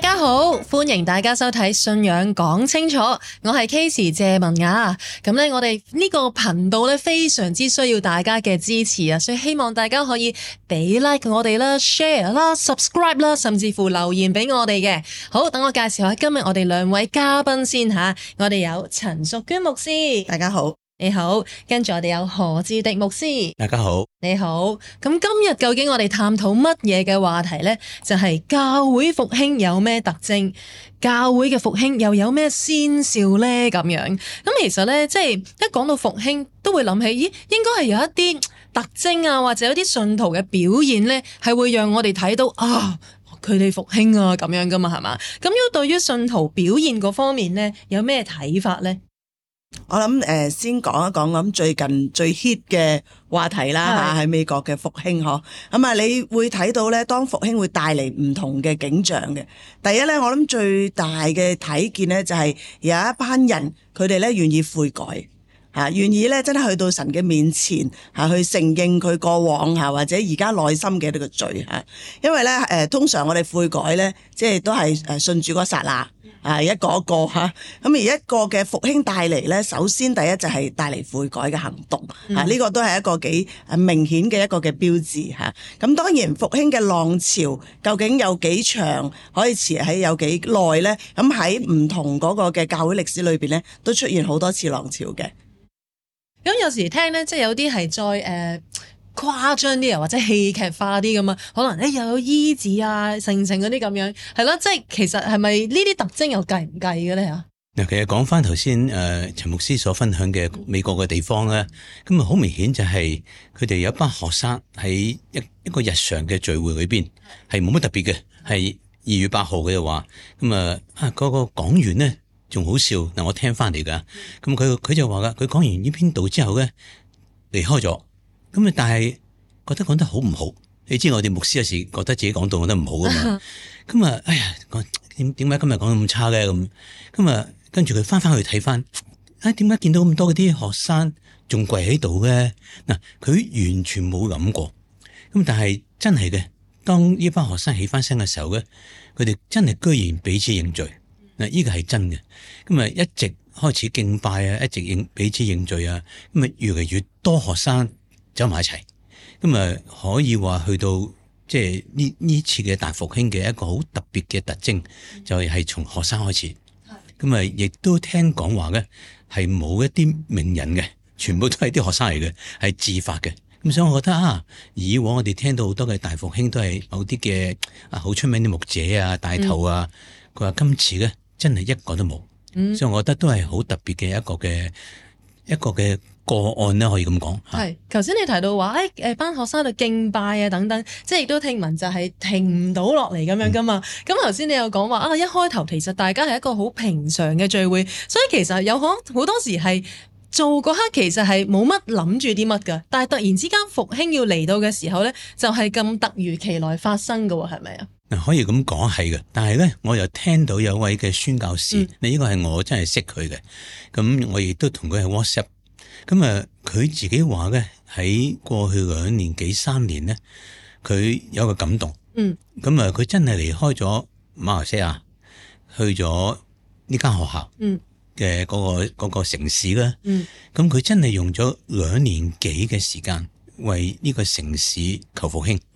大家好，歡迎大家收睇信仰講清楚，我係 Casey 謝文雅。咁咧，我哋呢個頻道咧非常之需要大家嘅支持啊，所以希望大家可以俾 like 我哋啦、share 啦、subscribe 啦，甚至乎留言俾我哋嘅。好，等我介紹下今日我哋兩位嘉賓先吓。我哋有陳淑娟牧師， 大家好。 你好，跟住我哋有何志迪牧師， 大家好， 你好。咁今日究竟我哋探討乜嘢嘅話題呢？就係教會復興有咩特徵，教會嘅復興又有咩先兆呢？咁樣咁其實呢，即係一講到復興，都會諗起，咦，應該係有一啲特徵啊，或者有啲信徒嘅表現呢，係會讓我哋睇到啊，佢哋復興啊咁樣噶嘛，係嘛？咁要對於信徒表現嗰方面呢，有咩睇法呢？ 我諗先講一講咁最近最 hit 嘅話題啦吓，喺美國嘅復興嗬。咁啊，你會睇到咧，當復興會帶嚟唔同嘅景象嘅。第一咧，我諗最大嘅睇見咧，就係有一班人佢哋咧願意悔改吓，願意咧真係去到神嘅面前吓，去承認佢過往吓或者而家內心嘅呢個罪吓。因為咧通常我哋悔改咧，即係都係信主嗰剎那。一個一個吓，咁而一個嘅復興帶嚟咧，首先第一就係帶嚟悔改嘅行動，呢個都係一個幾明顯嘅一個嘅標誌吓。咁當然復興嘅浪潮究竟有幾長，可以持喺有幾耐咧？咁喺唔同嗰個嘅教會歷史裏邊咧，都出現好多次浪潮嘅。 咁有時聽咧，即係有啲係再誇張啲啊，或者戲劇化啲咁啊，可能又有醫治啊、成嗰啲咁樣，係咯，即係其實係咪呢啲特徵又計唔計嘅咧嚇？ 嗱，其實講翻頭先陳牧師所分享嘅美國嘅地方咧，咁啊好明顯就係佢哋有一班學生喺一個日常嘅聚會裏邊係冇乜特別嘅，係2月8號嘅話，咁嗰個講員咧仲好笑嗱，我聽翻嚟噶，咁佢就話噶，佢講完呢篇道之後咧離開咗。咁但係覺得講得好唔好？你知我哋牧師有時覺得自己講道講得唔好噶嘛？咁哎呀，點解今日講得咁差咧？咁跟住佢翻去睇翻，點解見到咁多嗰啲學生仲跪喺度嘅？嗱，佢完全冇諗過。咁但係真係嘅，當呢班學生起翻身嘅時候咧，佢哋真係居然彼此認罪。嗱，呢個係真嘅。咁一直開始敬拜啊，一直彼此認罪啊。咁越嚟越多學生走埋一齊，咁可以話去到即係呢次嘅大復興嘅一個好特別嘅特徵，就係從學生開始。咁亦都聽講話咧，係冇一啲名人嘅，全部都係啲學生嚟嘅，係自發嘅。咁所以我覺得以往我哋聽到好多嘅大復興都係某啲嘅好出名啲牧者啊帶頭啊，佢話今次咧真係一個都冇，所以我覺得都係好特別嘅一個嘅個案咧，可以咁講。 係，頭先你提到話，班學生喺度敬拜啊等等，即係亦都聽聞就係停唔到落嚟咁樣噶嘛。咁頭先你又講話一開頭其實大家係一個好平常嘅聚會，所以其實有好多時係做嗰刻其實係冇乜諗住啲乜噶，但係突然之間復興要嚟到嘅時候咧，就係咁突如其來發生噶，係咪啊？ 可以咁講係嘅，但係咧我又聽到有位嘅宣教士，呢個係我真係識佢嘅，咁我亦都同佢係 WhatsApp。咁佢自己話咧，喺過去2年幾3年咧，佢有個感動。咁佢真係離開咗馬來西亞，去咗呢間學校嘅嗰個城市啦。咁佢真係用咗2年幾嘅時間為呢個城市求復興。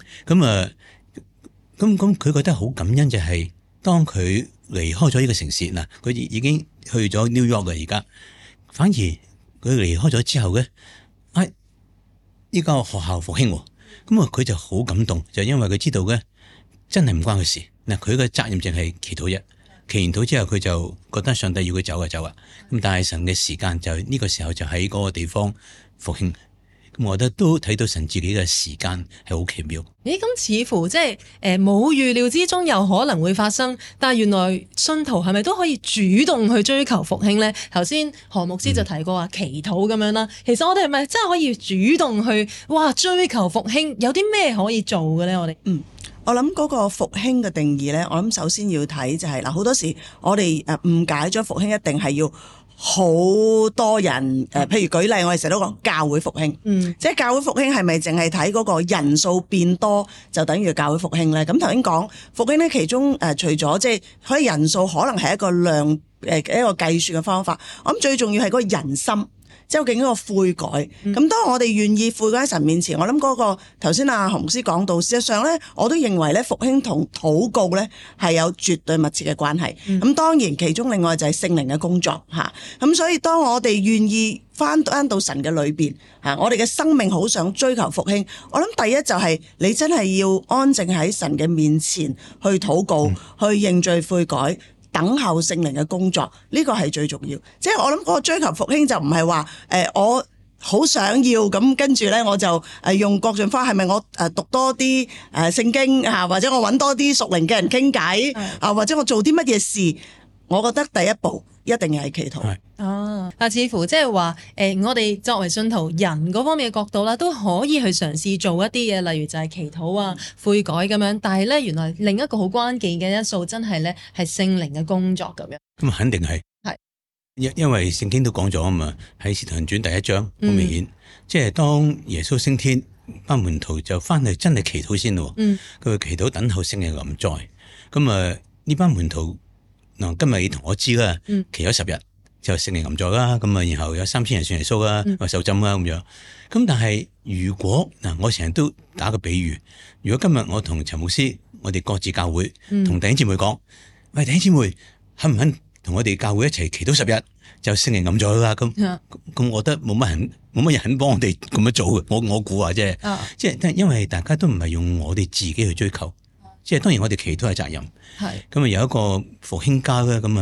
咁佢覺得好感恩，就係當佢離開咗呢個城市嗱，佢已經去咗 New York 啦，而家反而。佢離開咗之後咧，依家學校復興，咁佢就好感動，就因為佢知道咧，真係唔關佢事。嗱，佢嘅責任淨係祈禱啫，祈完禱之後佢就覺得上帝要佢走就走啊。咁但係神嘅時間就呢個時候就喺嗰個地方復興。咁我覺得都睇到神自己嘅時間係好奇妙。 咁似乎即係冇預料之中有可能會發生，但係原來信徒係咪都可以主動去追求復興咧？頭先何牧師就提過話祈禱咁樣啦。其實我哋係咪真係可以主動去追求復興？有啲咩可以做嘅咧？我哋我諗嗰個復興嘅定義咧，我諗首先要睇就係好多時我哋誤解咗復興一定係要好多人譬如舉例，我哋成日都講教會復興，即係教會復興係咪淨係睇嗰個人數變多就等於教會復興咧？咁頭先講復興咧，其中除咗即係可以人數可能係一個量一個計算嘅方法，我諗最重要係嗰個人心。究竟嗰個悔改，咁當我哋願意悔改喺神面前，我諗嗰個頭先阿何牧師講到，事實上咧，我都認為咧復興同禱告咧係有絕對密切嘅關係。咁當然其中另外就係聖靈嘅工作嚇。咁所以當我哋願意翻到神嘅裏邊嚇，我哋嘅生命好想追求復興，我諗第一就係你真係要安靜喺神嘅面前去禱告，去認罪悔改。等候聖靈嘅工作，呢個係最重要。即係我諗嗰個追求復興就唔係話我好想要咁，跟住咧我就用各種方法，係咪我讀多啲聖經啊，或者我揾多啲屬靈嘅人傾偈啊，或者我做啲乜嘢事？我覺得第一步一定係祈禱。 哦，但似乎即係話我哋作為信徒人嗰方面嘅角度啦，都可以去嘗試做一啲嘢，例如就係祈禱啊、悔改咁樣。但係咧，原來另一個好關鍵嘅因素，真係咧係聖靈嘅工作咁樣。 咁肯定係因為聖經都講咗啊嘛，喺使徒行傳第一章好明顯，即係當耶穌升天，班門徒就翻去真係祈禱先咯。佢祈禱等候聖靈臨在。咁呢班門徒。嗱，今日你同我知啦，祈咗10日就聖靈臨在啦，咁然後有3000人信耶穌啦，受浸啦咁樣。咁但係如果我成日都打個比喻，如果今日我同陳牧師，我哋各自教會同弟兄姊妹講，喂，弟兄姊妹肯唔肯同我哋教會一齊祈禱10日就聖靈臨在啦？咁我覺得冇乜人肯幫我哋咁樣做嘅。我估話啫，即係因為大家都唔係用我哋自己去追求。即係當然我哋祈禱係責任，咁有一個復興家咧，咁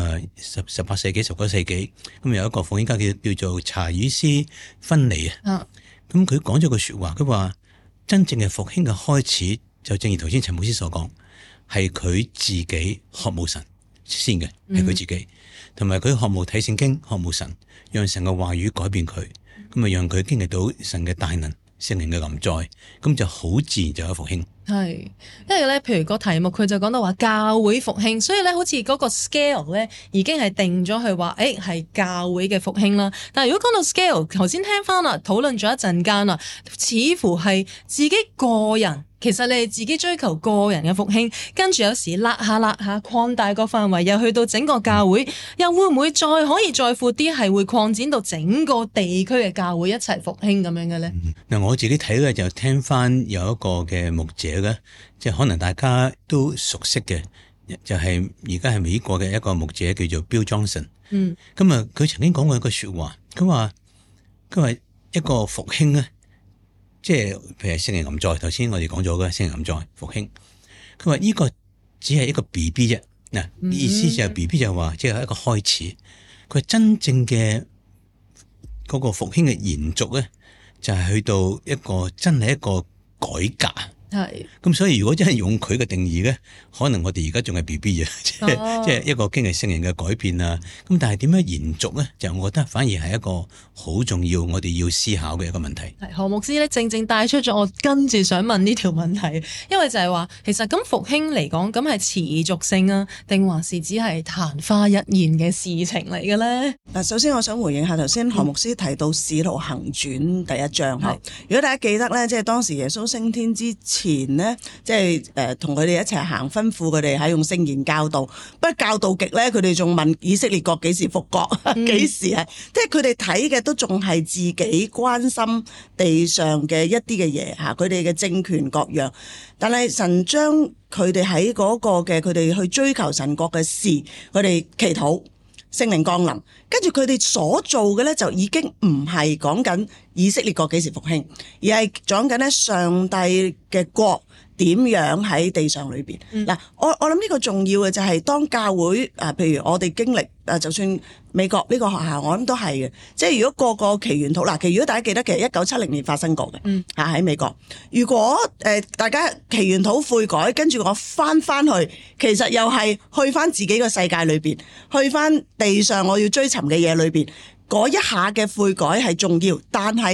18世紀、19世紀，咁有一個復興家叫做查爾斯芬尼啊，咁佢講咗句說話，佢話真正嘅復興嘅開始，就正如頭先陳牧師所講，係佢自己渴慕神先嘅，係佢自己，同埋佢渴慕睇聖經，渴慕神，讓神嘅話語改變佢，咁讓佢經歷到神嘅大能、聖靈嘅臨在，咁就好自然就有復興。 係，因為咧，譬如個題目佢就講到話教會復興，所以咧好似嗰個 scale 咧已經係定咗去話，係教會嘅復興啦。但係如果講到 scale，頭先聽翻啦，討論咗一陣間啦，似乎係自己個人。其實你係自己追求個人嘅復興，跟住有時拉下擴大個範圍，又去到整個教會，又會唔會再可以再闊啲，係會擴展到整個地區嘅教會一齊復興咁樣嘅咧？ 嗱，我自己睇咧就聽翻有一個嘅牧者咧，即係可能大家都熟悉嘅，就係而家係美國嘅一個牧者叫做 Bill Johnson。咁佢曾經講過一個說話，佢話一個復興咧。即係譬如聖靈臨在，頭先我哋講咗嘅聖靈臨在復興，佢話呢個只係一個 BB 啫，嗱，意思就係 BB 就係話即係一個開始，佢話真正嘅嗰個復興嘅延續咧，就係去到一個真係一個改革。係，咁所以如果真係用佢嘅定義咧，可能我哋而家仲係 BB 啊，即係一個經歷聖靈嘅改變啊。咁但係點樣延續咧？就我覺得反而係一個好重要，我哋要思考嘅一個問題。係何牧師咧，正正帶出咗我跟住想問呢條問題，因為就係話，其實咁復興嚟講，咁係持續性啊，定還是只係曇花一現嘅事情嚟嘅咧？ 嗱，首先我想回應下頭先何牧師提到《使徒行傳》第1章。如果大家記得咧，即係當時耶穌升天之前呢，即係同佢哋一齊行，吩咐佢哋用聖言教導。不過教導極咧，佢哋仲問以色列國幾時復國，幾時係？即係佢哋睇嘅都仲係自己關心地上嘅一啲嘅嘢嚇，佢哋嘅政權各樣。但係神將佢哋喺嗰個嘅佢哋去追求神國嘅事，佢哋祈禱聖靈降臨，跟住佢哋所做嘅咧就已經唔係講緊以色列國幾時復興，而係講緊咧上帝嘅國點樣喺地上裏邊。嗱，我諗呢個重要嘅就係當教會譬如我哋經歷就算美國呢個學校，我諗都係嘅。即係如果個祈完禱，其實如果大家記得，其實1970年發生過嘅，喺美國。如果大家祈完禱悔改，跟住我翻去，其實又係去翻自己個世界裏邊，去翻地上我要追尋嘅嘢裏邊，嗰一下嘅悔改係重要，但係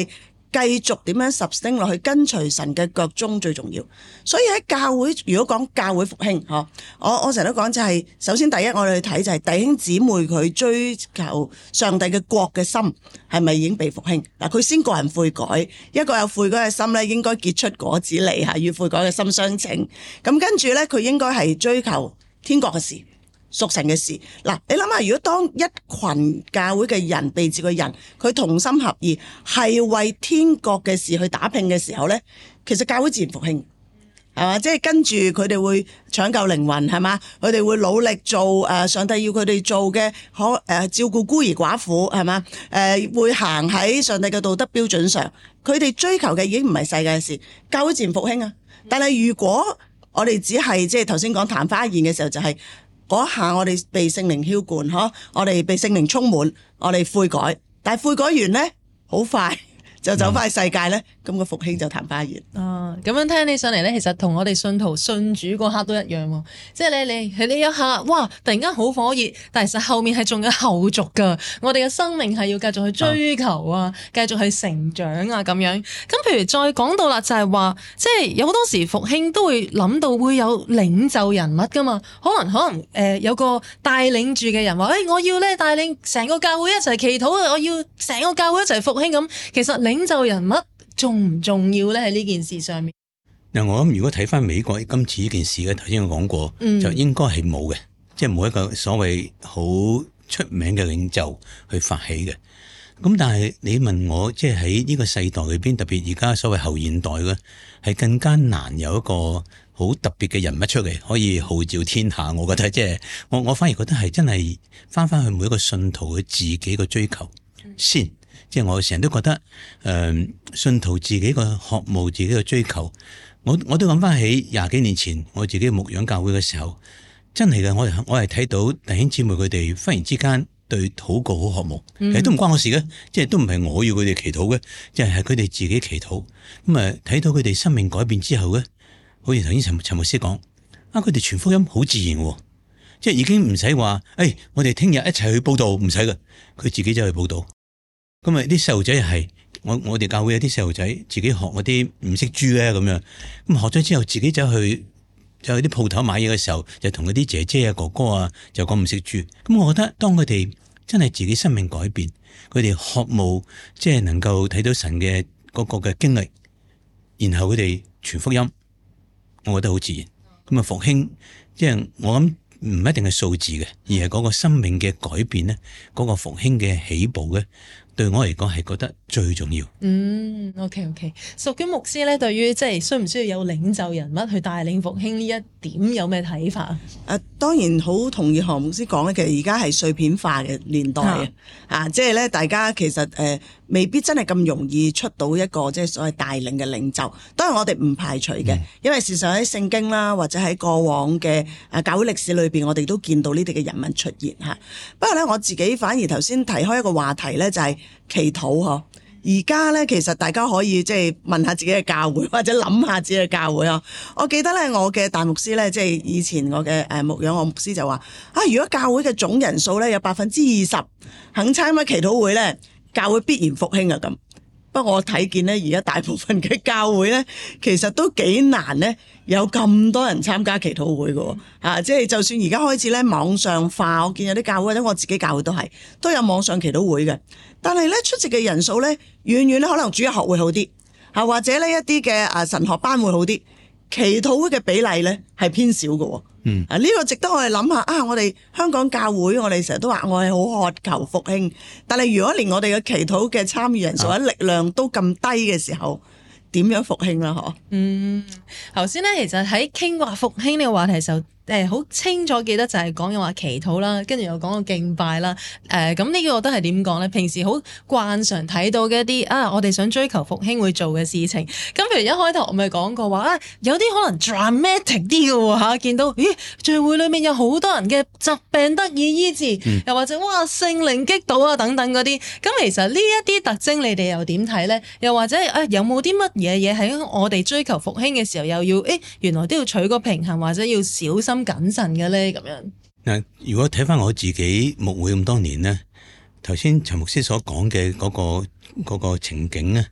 繼續點樣sustain落去，跟隨神嘅腳蹤最重要。所以喺教會，如果講教會復興，我成日都講就係，首先第一我哋去睇就係弟兄姊妹佢追求上帝嘅國嘅心係咪已經被復興？嗱，佢先個人悔改，一個有悔改嘅心咧，應該結出果子嚟嚇，與悔改嘅心相稱。咁跟住咧，佢應該係追求天國嘅事。屬神嘅事，嗱，你諗下，如果當一群教會嘅人被召嘅人，佢同心合意，係為天國嘅事去打拼嘅時候咧，其實教會自然復興，係嘛？即係跟住佢哋會搶救靈魂，係嘛？佢哋會努力做上帝要佢哋做嘅，照顧孤兒寡婦，係嘛？會行喺上帝嘅道德標準上，佢哋追求嘅已經唔係世界嘅事，教會自然復興啊！但係如果我哋只係即係頭先講曇花一現嘅時候，就係嗰下我哋被聖靈澆灌，我哋被聖靈充滿，我哋悔改，但係悔改完咧，好快就走翻去世界咧，咁個復興就曇花一現。 咁樣聽起上嚟咧，其實同我哋信徒信主嗰刻都一樣喎。即係你一下，哇！突然間好火熱，但係其實後面係仲有後續噶。我哋嘅生命係要繼續去追求啊，繼續去成長啊，咁樣。咁譬如再講到啦，就係話，即係有好多時復興都會諗到會有領袖人物噶嘛。可能有個帶領住嘅人話，我要咧帶領成個教會一齊祈禱啊，我要成個教會一齊復興咁。其實領袖人物重唔重要咧？喺呢件事上面， 嗱，我諗如果睇翻美國今次呢件事咧，頭先我講過，就應該係冇嘅，即係冇一個所謂好出名嘅領袖去發起嘅。咁但係你問我，即係喺呢個世代裏邊，特別而家所謂後現代嘅，係更加難有一個好特別嘅人物出嚟，可以號召天下。我覺得即係我反而覺得係真係翻去每一個信徒佢自己嘅追求先。即係我成日都覺得，信徒自己個渴慕，自己個追求，我都諗翻起20幾年前我自己牧養教會嘅時候，真係嘅，我係睇到弟兄姊妹佢哋忽然之間對禱告好渴慕，其實都唔關我事嘅，即係都唔係我要佢哋祈禱嘅，即係佢哋自己祈禱。咁啊，睇到佢哋生命改變之後咧，好似頭先陳牧師講，佢哋傳福音好自然喎，即係已經唔使話，我哋聽日一齊去報道，唔使嘅，佢自己走去報道。咁啊！啲細路仔又係我哋教會有啲細路仔自己學嗰啲唔識豬咧，咁樣咁學咗之後，自己走去啲鋪頭買嘢嘅時候，就同嗰啲姐姐啊、哥哥啊就講唔識豬。咁我覺得當佢哋真係自己生命改變，佢哋渴慕即係能夠睇到神嘅嗰個嘅經歷，然後佢哋傳福音，我覺得好自然。咁啊，復興即係我諗唔一定係數字嘅，而係嗰個生命嘅改變咧，嗰個復興嘅起步咧。對我嚟講係覺得最重要。 OK。淑娟牧師咧，對於即係需唔需要有領袖人物去帶領復興呢一點有咩睇法啊？ 當然好同意何牧師講咧，其實而家係碎片化嘅年代即係咧大家其實未必真係咁容易出到一個即係所謂帶領嘅領袖。當然我哋唔排除嘅，因為事實喺聖經啦，或者喺過往嘅教會歷史裏邊，我哋都見到呢啲嘅人物出現嚇。不過咧，我自己反而頭先提開一個話題咧，就係祈禱嗬。而家咧，其實大家可以即係問下自己嘅教會，或者諗下自己嘅教會啊。我記得咧，我嘅大牧師咧，即係以前我嘅牧養我牧師就話如果教會嘅總人數咧有20%肯參加祈禱會咧，教會必然復興啊咁。不過我睇見咧，而家大部分嘅教會咧，其實都幾難咧，有咁多人參加祈禱會嘅即係就算而家開始咧網上化，我見有啲教會或者我自己教會都有網上祈禱會嘅，但係咧出席嘅人數咧，遠遠咧可能主日學會好啲或者呢一啲嘅神學班會好啲，祈禱會嘅比例咧係偏少嘅。呢個值得我哋諗下我哋香港教會，我哋成日都話我係好渴求復興，但係如果連我哋嘅祈禱嘅參與人數或者力量都咁低嘅時候，點樣復興啦？ 頭先咧，其實喺傾話復興呢個話題時候，好清楚記得就係講嘅話祈禱啦，跟住又講到敬拜啦。咁呢個都係點講咧？平時好慣常睇到嘅一啲我哋想追求復興會做嘅事情。咁譬如一開頭我咪講過話有啲可能 dramatic 啲嘅喎見到聚會裏面有好多人嘅疾病得以醫治，又或者聖靈擊倒等等嗰啲。咁其實呢一啲特徵你哋又點睇咧？又或者有冇啲乜嘢喺我哋追求復興嘅時候又要原來都要取個平衡，或者要小心謹慎嘅咧？咁樣嗱，如果睇翻我自己牧會咁多年咧，頭先陳牧師所講嘅嗰個情景咧，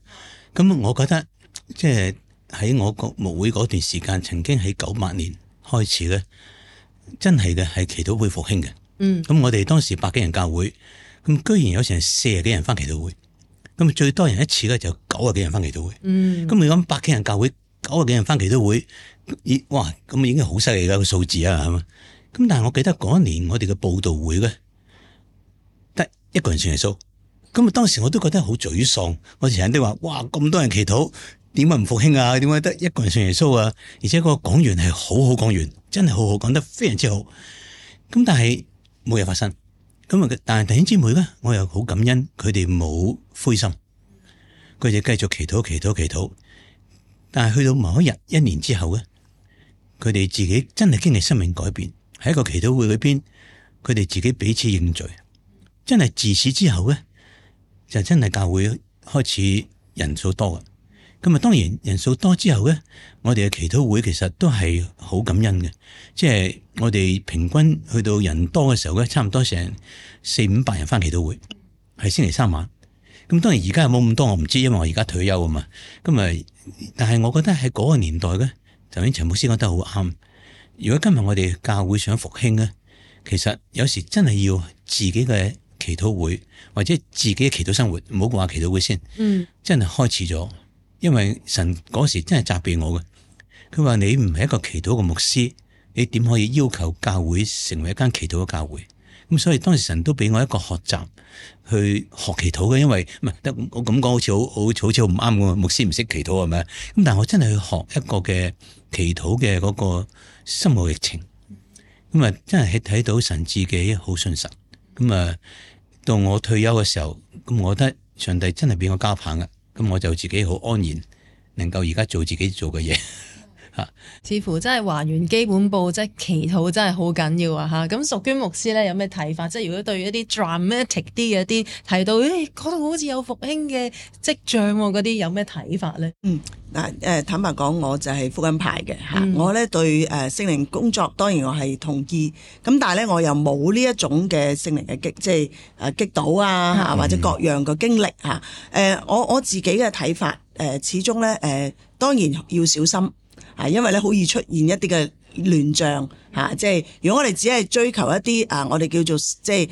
咁我覺得即係喺我個牧會嗰段時間，曾經喺98年開始咧，真係嘅係祈禱會復興嘅。咁我哋當時100幾人教會，咁居然有成40幾人翻祈禱會，咁最多人一次咧就90幾人翻祈禱會。咁你諗100幾人教會，90幾人翻祈禱會，哇！咁已經好犀利啦個數字啊，係嘛？咁但係我記得嗰一年我哋嘅佈道會咧，得一個人信耶穌。咁當時我都覺得好沮喪，我成日都話：哇！咁多人祈禱，點解唔復興啊？點解得一個人信耶穌啊？而且個講員係好好講員，真係好好講得非常之好。咁但係冇嘢發生。咁啊，但係弟兄姊妹咧，我又好感恩，佢哋冇灰心，佢哋繼續祈禱。但係去到某一日1年之後咧，佢哋自己真係經歷生命改變，喺一個祈禱會裏邊，佢哋自己彼此認罪，真係自此之後咧，就真係教會開始人數多嘅。咁啊，當然人數多之後咧，我哋嘅祈禱會其實都係好感恩嘅，即係我哋平均去到人多嘅時候咧，差唔多成400-500人翻祈禱會，係星期3晚。咁當然而家有冇咁多我唔知，因為我而家退休啊嘛。咁啊，但係我覺得喺嗰個年代咧，頭先陳牧師講得好啱。如果今日我哋教會想復興咧，其實有時真係要自己嘅祈禱會或者自己嘅祈禱生活，唔好話祈禱會先，真係開始咗。因為神嗰時真係責備我嘅，佢話你唔係一個祈禱嘅牧師，你點可以要求教會成為一間祈禱嘅教會？咁所以當時神都俾我一個學習去學祈禱嘅，因為唔係得我咁講好似好唔啱嘅，牧師唔識祈禱係咪？咁但係我真係去學一個嘅祈禱嘅嗰個心路歷程，咁啊真係睇到神自己好信實。咁啊到我退休嘅時候，咁我覺得上帝真係俾我交棒嘅，咁我就自己好安然，能夠而家做自己做嘅嘢。 似乎真係還原基本步，即係祈禱真係好緊要啊！咁淑娟牧師咧有咩睇法？即係如果對於一啲 dramatic 啲嘅啲提到，嗰度好似有復興嘅跡象嗰啲，有咩睇法咧？ 坦白講，我就係福音派嘅嚇。我咧對聖靈工作當然我係同意，咁但係咧我又冇呢一種嘅聖靈嘅擊倒啊或者各樣嘅經歷嚇。我自己嘅睇法始終咧當然要小心。因為咧好易出現一啲嘅亂象嚇，即係如果我哋只係追求一啲我哋叫做即係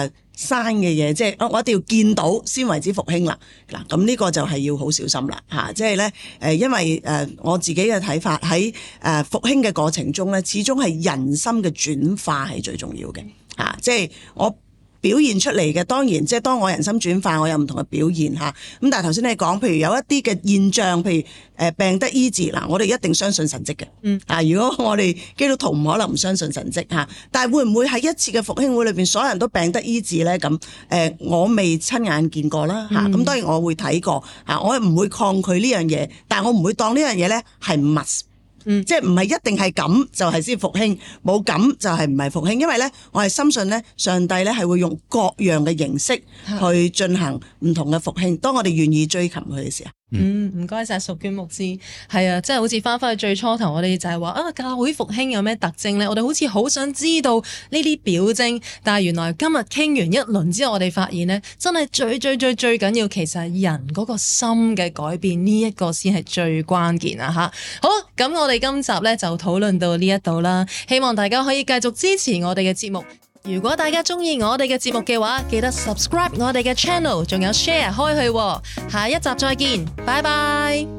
sign嘅嘢，即係我一定要見到先為之復興啦。嗱，咁呢個就係要好小心啦嚇，即係咧因為我自己嘅睇法喺復興嘅過程中咧，始終係人心嘅轉化係最重要嘅嚇，即係我表現出嚟嘅，當然即係當我人心轉化，我有唔同嘅表現嚇。咁但係頭先你講，譬如有一啲嘅現象，譬如病得醫治，嗱，我哋一定相信神蹟嘅。如果我哋基督徒唔可能唔相信神蹟嚇，但係會唔會喺一次嘅復興會裏邊，所有人都病得醫治咧？咁我未親眼見過啦嚇。咁當然我會睇過嚇，我唔會抗拒呢樣嘢，但係我唔會當呢樣嘢咧係 must。即係唔係一定係咁就係先復興，冇咁就係唔係復興，因為咧我係深信咧上帝咧係會用各樣嘅形式去進行唔同嘅復興，當我哋願意追求佢嘅時候。 唔該晒淑娟牧師，係啊，即係好似翻返去最初頭，我哋就係話教會復興有咩特徵咧？我哋好似好想知道呢啲表徵，但係原來今日傾完一輪之後，我哋發現咧，真係最緊要，其實係人嗰個心嘅改變，呢一個先係最關鍵啊！吓，好，咁我哋今集咧就討論到呢一度啦，希望大家可以繼續支持我哋嘅節目。如果大家中意我哋嘅節目嘅話，記得 subscribe 我哋嘅 channel， 仲有 share 開去。下一集再見，拜拜。